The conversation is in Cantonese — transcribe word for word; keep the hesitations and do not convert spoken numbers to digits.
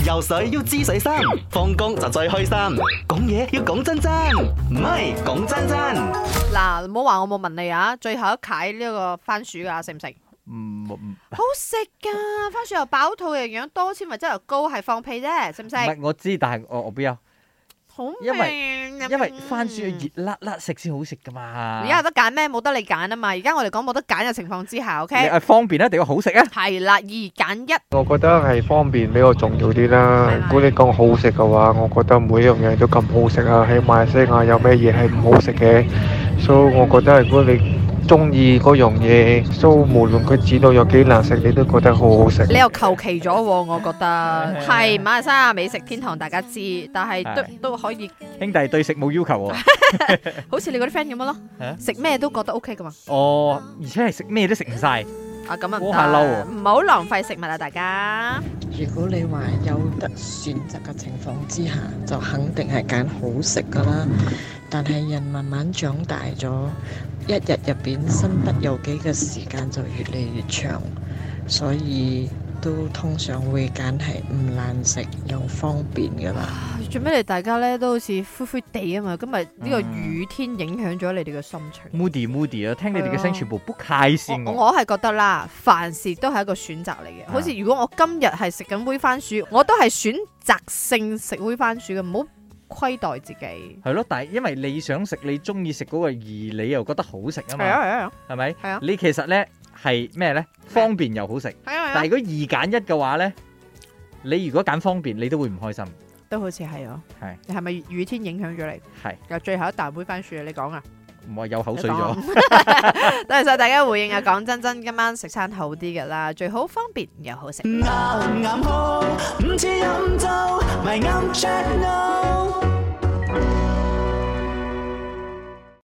游水要知水深，放工就最開心。講嘢要講真真，唔係講真真。 嗱，唔好話我冇問你啊，最後一屆呢個番薯噶，食唔食？ 唔唔好食噶，番薯又飽肚，營養多，纖維質又高，係放屁啫，食唔食？ 唔係我知，但係我我不要， 好味， 因為因為番薯要熱辣辣食先好食噶嘛。 而家有得揀咩？冇得你揀啊嘛！而家我哋講冇得揀嘅情況之下你 ，OK？ 係方便一定要好食啊。 係啦，二揀一。 我覺得係方便比較重要啲啦。 係咪如果你講好食嘅話，我覺得每樣嘢都咁好食啊。喺馬來西亞有咩嘢係唔好食嘅？所以我覺得如果你中意嗰樣嘢，所以無論佢煮到有幾難食，你都覺得好好食。 你又求其咗喎，我覺得係馬來西亞美食天堂，大家知，但係都係都可以， 兄弟對食冇要求喎。 好似你嗰啲 friend 咁樣咯， 啊食咩都覺得 OK 噶嘛。 哦，而且係食咩都食唔晒。 啊咁啊唔好下嬲得， 喎唔好浪費食物啊，大家。 如果你話有得選擇嘅情況之下，就肯定係揀好食噶啦。但係人慢慢長大咗，一日入邊身不由己嘅時間就越嚟越長，所以都通常會揀係唔難食又方便噶啦。 做咩你大家咧都好似灰灰地啊嘛？今日呢個雨天影響咗你哋嘅心情。 Moody Moody 啊，聽你哋嘅係啊聲全部不開心喎。 我我係覺得啦，凡事都係一個選擇嚟嘅。 啊好似如果我今日係食緊煨番薯，我都係選擇性食煨番薯嘅，唔好虧待自己。 係咯，但係因為你想食你中意食嗰個，而你又覺得好食啊嘛， 係啊係啊係咪？ 係啊你其實咧係咩咧？方便又好食。 係啊係啊， 但係如果二揀一嘅話咧，你如果揀方便，你都會唔開心。 都好似係啊。 係你係咪雨天影響咗你？ 係， 又最後一啖煨番薯，你講啊！ 唔係有口水咗。 多謝晒大家回應啊！講真真，今晚食餐好啲噶啦，最好方便又好食。 啱啱好，唔似飲酒，咪啱 check no。